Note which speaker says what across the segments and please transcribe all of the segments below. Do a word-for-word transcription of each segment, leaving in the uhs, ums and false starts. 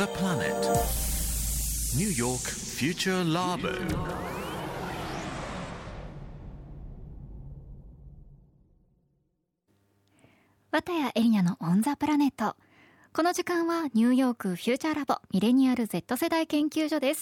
Speaker 1: the planet. New York Future Labo.
Speaker 2: 綿谷エリナのオンザプラネット。この時間はニューヨークフューチャーラボミレニアル Z 世代研究所です。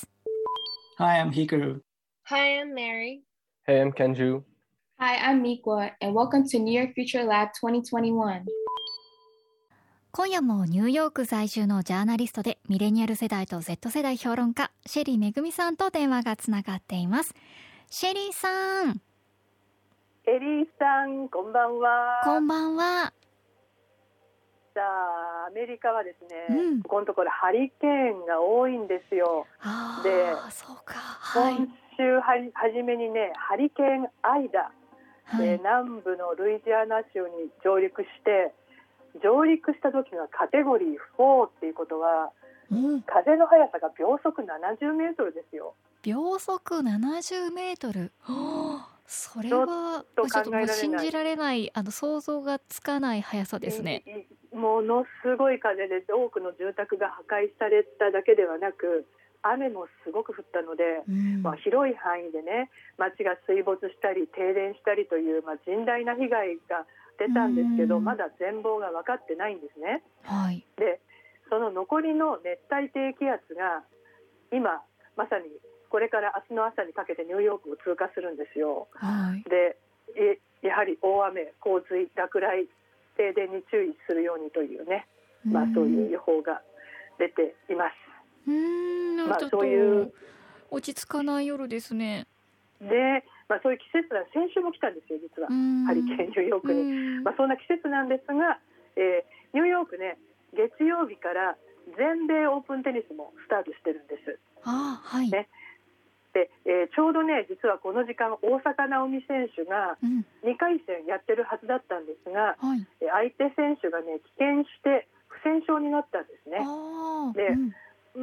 Speaker 3: Hi, I'm Hikaru.
Speaker 4: Hi, I'm Mary.
Speaker 5: Hey, I'm Kenju.
Speaker 4: Hi, I'm Mikwa, and welcome to New York Future Lab twenty twenty-one.
Speaker 2: 今夜もニューヨーク在住のジャーナリストでミレニアル世代と Z 世代評論家シェリーめぐみさんと電話がつながっています。シェリーさん。
Speaker 6: エリーさん、こんばんは。
Speaker 2: こんばんは。
Speaker 6: さあ、アメリカはですね、
Speaker 2: うん、
Speaker 6: ここのところハリケーンが多いんですよ。
Speaker 2: あ
Speaker 6: で、
Speaker 2: そうか、はい、
Speaker 6: 今週は初めにね、ハリケーンアイダ、はい、えー、南部のルイジアナ州に上陸して、上陸した時がカテゴリーフォーっていうことは、うん、風の速さが秒速ななじゅうメートルですよ。
Speaker 2: 秒速ななじゅうメートル、はあ、それはちょっともう信じられない、あの想像がつかない速さですね。
Speaker 6: ものすごい風で多くの住宅が破壊されただけではなく、雨もすごく降ったので、うん、まあ、広い範囲でね、街が水没したり停電したりという、まあ、甚大な被害が出たんですけど、うん、まだ全貌が分かってないんですね、
Speaker 2: はい、
Speaker 6: でその残りの熱帯低気圧が今まさにこれから明日の朝にかけてニューヨークを通過するんですよ、
Speaker 2: はい、
Speaker 6: でやはり大雨、洪水、落雷、停電に注意するようにというね、まあ、そういう予報が出ています。
Speaker 2: うーん、まあ、ちょっと落ち着かない夜ですね。
Speaker 6: で、まあ、そういう季節が先週も来たんですよ、実はハリケーンニューヨークに、まあ、そんな季節なんですが、えー、ニューヨークね、月曜日から全米オープンテニスもスタートしてるんです。
Speaker 2: あ、はい、
Speaker 6: ね、でえー、ちょうどね、実はこの時間大坂なおみ選手がにかい戦やってるはずだったんですが、
Speaker 2: うん、はい、
Speaker 6: 相手選手がね棄権して不戦勝になったんですね。で、うん、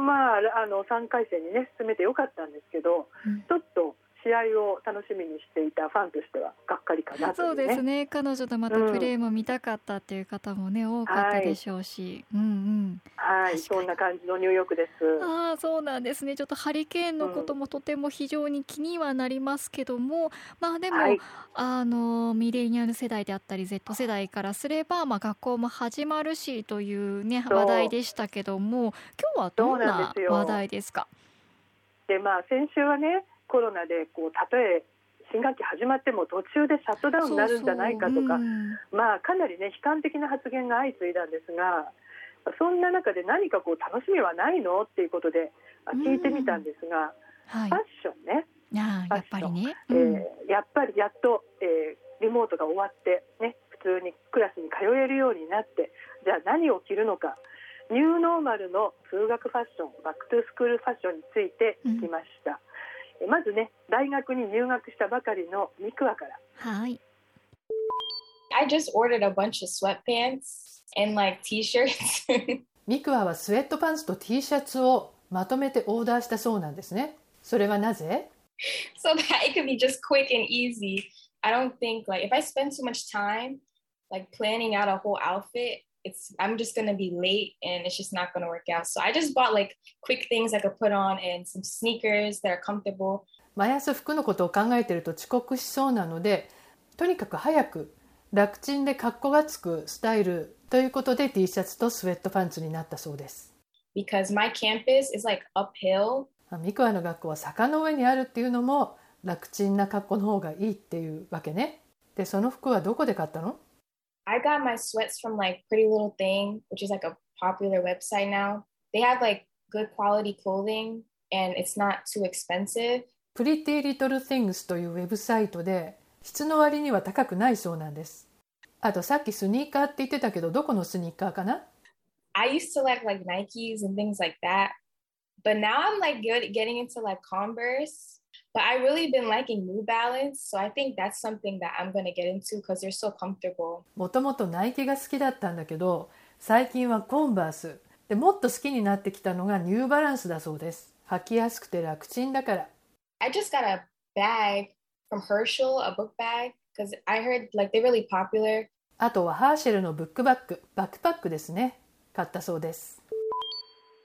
Speaker 6: まあ、あのさんかい戦にね進めてよかったんですけど、うん、ちょっと試合を楽しみにしていたファンとしてはがっかりかなというね。
Speaker 2: そうですね、彼女とまたプレーも見たかったっていう方もね、うん、多かったでしょうし、はい、うんうん、
Speaker 6: はい、そんな感じのニューヨークです。
Speaker 2: あ、そうなんですね。ちょっとハリケーンのこともとても非常に気にはなりますけども、うん、まあでも、はい、あのミレニアル世代であったり Z 世代からすれば、まあ、学校も始まるしというね話題でしたけども、今日はどんな話題ですか？
Speaker 6: で、まあ、先週はね、コロナでこうたとえ新学期始まっても途中でシャットダウンになるんじゃないかとか、そうそう、うん、まあ、かなりね悲観的な発言が相次いだんですが、そんな中で何かこう楽しみはないのっていうことで聞いてみたんですが、うん、はい、ファッションね、
Speaker 2: あ、やっぱりね、
Speaker 6: うん、えー、やっぱりやっと、えー、リモートが終わって、ね、普通にクラスに通えるようになって、じゃあ何を着るのか、ニューノーマルの通学ファッション、バックトゥースクールファッションについて聞きました、うん、まずね、大学に入学したばかりのミクワから。
Speaker 2: はい。
Speaker 4: I just ordered a bunch of sweatpants and like t-shirts
Speaker 7: ミクワはスウェットパンツと T シャツをまとめてオーダーしたそうなんですね。それはなぜ？
Speaker 4: So that it could be just quick and easy. I don't think like if I spend too much time like planning out a whole outfit,It's, I'm just going to be late and it's just not going to work out. So I just bought like quick things I could put on and some sneakers that are comfortable.
Speaker 7: 毎朝服のことを考えていると遅刻しそうなので、とにかく早く楽ちんで格好がつくスタイルということで T シャツとスウェットパンツになったそうです。
Speaker 4: Because my campus is like uphill.
Speaker 7: ミクワの学校は坂の上にあるっていうのも楽ちんな格好の方がいいっていうわけね。で、その服はどこで買ったの
Speaker 4: ？I got my sweats from like Pretty Little Thing, which is like a popular website now. They have like good quality clothing and it's not too expensive.
Speaker 7: Pretty Little Things というウェブサイトで質の割には高くないそうなんです。あとさっきスニーカーって言ってたけど、どこのスニーカーかな？
Speaker 4: I used to like like Nikes and things like that. But now I'm like good getting into like Converse.But I really been liking New Balance, so I think that's something that I'm going to get into because they're so comfortable.
Speaker 7: もともとナイキが好きだったんだけど、最近はコンバースで、もっと好きになってきたのがニューバランスだそうです。履きやすくて楽ちんだから。
Speaker 4: I just got a bag from Herschel, a book bag, because I heard like they're really popular.
Speaker 7: あとはハーシェルのブックバッグ、バックパックですね。買ったそうです。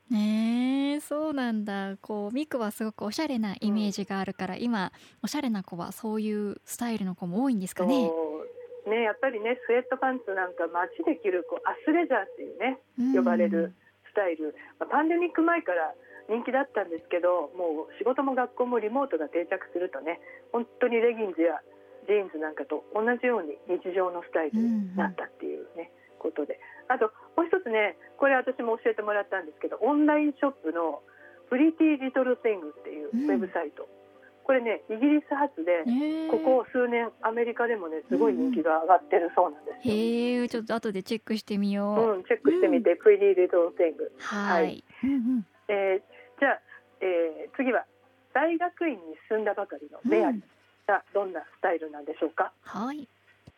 Speaker 2: ねえ、そうなんだ。こうミクはすごくおしゃれなイメージがあるから、うん、今おしゃれな子はそういうスタイルの子も多いんですかね。
Speaker 6: そうね、やっぱりねスウェットパンツなんか街で着るこうアスレザーっていうね、呼ばれるスタイル、まあ、パンデミック前から人気だったんですけど、もう仕事も学校もリモートが定着するとね、本当にレギンズやジーンズなんかと同じように日常のスタイルになったっていうね、うんうん、ことで、あともう一つね、これ私も教えてもらったんですけど、オンラインショップのプリティリトルシングっていうウェブサイト、うん、これねイギリス発で、ここ数年アメリカでもねすごい人気が上がってるそうなんですよ。
Speaker 2: へえ、ちょっと後でチェックしてみよう。
Speaker 6: うん、チェックしてみて、うん、プリティリトルシング。
Speaker 2: はい、はい、うんうん、
Speaker 6: えー、じゃあ、えー、次は大学院に進んだばかりのメアリーがどんなスタイルなんでしょうか。
Speaker 2: はい。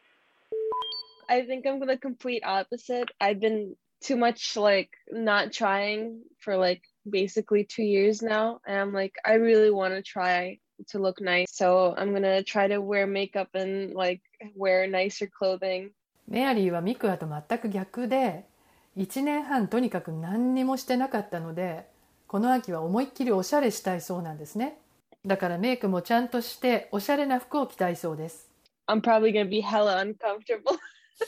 Speaker 5: I think I'm the complete opposite. I've been too much like not trying for like basically two years now, and I'm like I really want to try to look nice, so I'm gonna try to wear makeup and like wear nicer clothing.
Speaker 7: メアリーはミクアと全く逆で、いちねんはんとにかく何にもしてなかったので、この秋は思いっきりおしゃれしたいそうなんですね。だからメイクもちゃんとしておしゃれな服を着たいそうです。
Speaker 5: I'm probably gonna be hella uncomfortable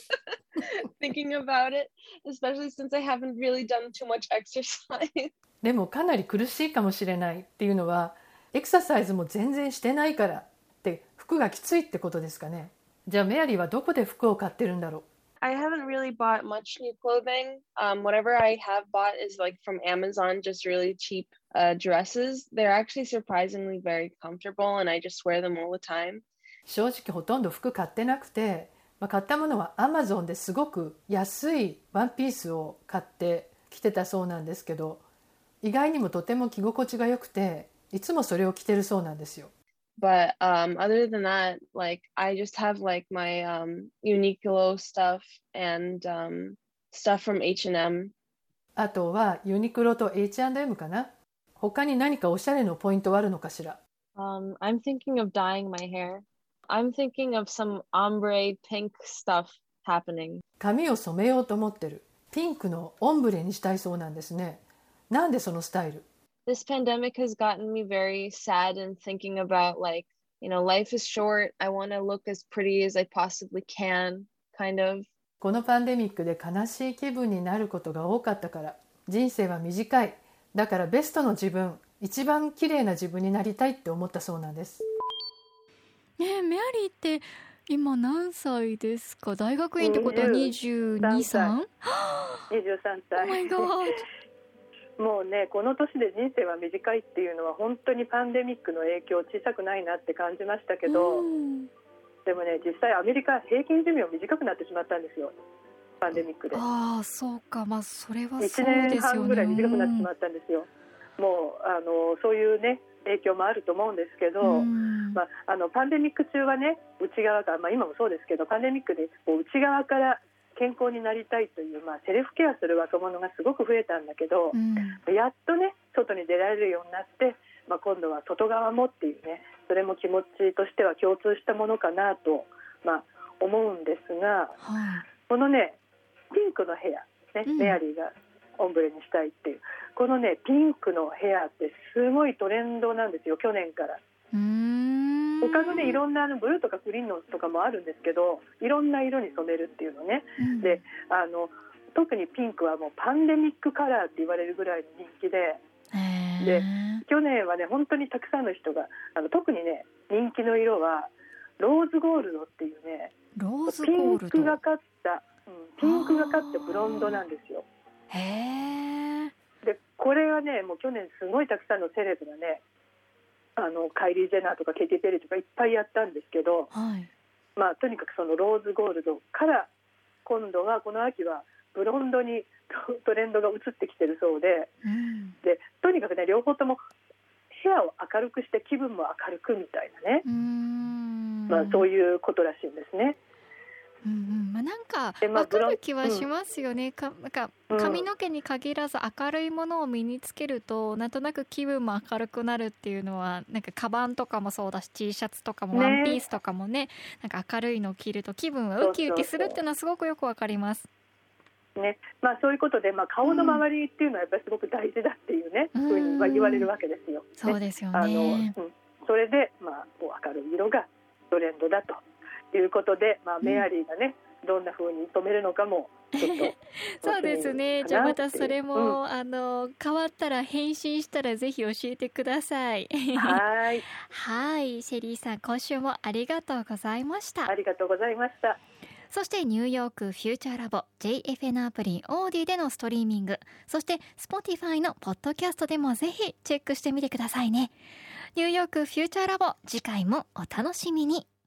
Speaker 5: thinking about it, especially since I haven't really done too much exercise.
Speaker 7: でもかなり苦しいかもしれないっていうのは、エクササイズも全然してないからって服がきついってことですかね。じゃあメアリーはどこで服を買ってるんだろう。
Speaker 5: I haven't really bought much new clothing. Um, whatever I have bought is like from Amazon, just really cheap uh, dresses. They're actually surprisingly very comfortable, and I just wear them all the time.
Speaker 7: 正直ほとんど服買ってなくて、まあ、買ったものは Amazon ですごく安いワンピースを買って着てたそうなんですけど、意外にもとても着心地が良くて、いつもそれを着てるそうなんですよ。
Speaker 5: But um, other than that, like I just have like my um, Uniqlo stuff and um, stuff from H and M.
Speaker 7: あとはユニクロと エイチアンドエム かな。他に何かおしゃれのポイントはあるのかしら。
Speaker 5: Um, I'm thinking of dyeing my hair. I'm thinking of some ombre pink stuff happening.
Speaker 7: 髪を染めようと思ってる。ピンクのオンブレにしたいそうなんですね。なんでそのスタイル
Speaker 5: ？This pandemic has gotten me very sad and thinking about like, you know, life is short. I want to look as pretty as I possibly can, kind of.
Speaker 7: このパンデミックで悲しい気分になることが多かったから、人生は短い。だからベストの自分、一番綺麗な自分になりたいって思ったそうなんです。
Speaker 2: ねえ、メアリーって今何歳ですか？大学院ってことはにじゅうに、さん？に
Speaker 6: じゅうさんさい。
Speaker 2: Oh my god。
Speaker 6: もうね、この年で人生は短いっていうのは本当にパンデミックの影響小さくないなって感じましたけど、うん、でもね実際アメリカ平均寿命短くなってしまったんですよ、パンデミックで。あ
Speaker 2: あ、そうか、まあそれはそうですよね。
Speaker 6: いちねんはんぐらい短くなってしまったんですよ、うん、もうあのそういうね影響もあると思うんですけど、うん、まあ、あのパンデミック中はね内側から、まあ、今もそうですけどパンデミックでこう内側から健康になりたいという、まあ、セルフケアする若者がすごく増えたんだけど、うん、やっとね外に出られるようになって、まあ、今度は外側もっていうね、それも気持ちとしては共通したものかなと、まあ、思うんですが、はい、このねピンクのヘア、ね、うん、メアリーがオンブレにしたいっていうこのねピンクのヘアってすごいトレンドなんですよ、去年から。
Speaker 2: うーん、
Speaker 6: 他のねいろんなブルーとかグリーンのとかもあるんですけど、いろんな色に染めるっていうのね、うん、であの特にピンクはもうパンデミックカラーって言われるぐらいの人気で、で去年はね本当にたくさんの人があの特にね人気の色はローズゴールドっていうね、
Speaker 2: ローズゴールド、
Speaker 6: ピンクがかった、うん、ピンクがかったブロンドなんですよ。
Speaker 2: へー。
Speaker 6: でこれはねもう去年すごいたくさんのセレブがねあのカイリー・ジェナーとかケイティ・ペリーとかいっぱいやったんですけど、
Speaker 2: はい、
Speaker 6: まあ、とにかくそのローズゴールドから今度はこの秋はブロンドにトレンドが移ってきてるそうで、うん、でとにかくね両方とも部屋を明るくして気分も明るくみたいなね、
Speaker 2: うーん、
Speaker 6: まあ、そういうことらしいんですね。
Speaker 2: うんうん、まあ、なんか分かる気はしますよね、うん、かなんか髪の毛に限らず明るいものを身につけると、うん、なんとなく気分も明るくなるっていうのはなんかカバンとかもそうだし T シャツとかもワンピースとかも ね, ねなんか明るいのを着ると気分はウキウキするっていうのはすごくよくわかります。
Speaker 6: ね、まあ、そういうことで、まあ、顔の周りっていうのはやっぱりすごく大事だっていうね、うん、ふうにまあ言われるわけですよ。
Speaker 2: そうですよね。
Speaker 6: あの、うん、それで、まあ、こう明るい色がトレンドだということで、まあ、メアリーがね、うん、どんなふうに止めるのかもちょっと
Speaker 2: そうですね。じゃあまたそれも、うん、あの変わったら返信したらぜひ教えてください。
Speaker 6: はい
Speaker 2: はい、シェリーさん、今週もありがとうございました。
Speaker 6: ありがとうございました。
Speaker 2: そしてニューヨークフューチャーラボ ジェイエフエヌ アプリオーディでのストリーミング、そして Spotify のポッドキャストでもぜひチェックしてみてくださいね。ニューヨークフューチャーラボ、次回もお楽しみに。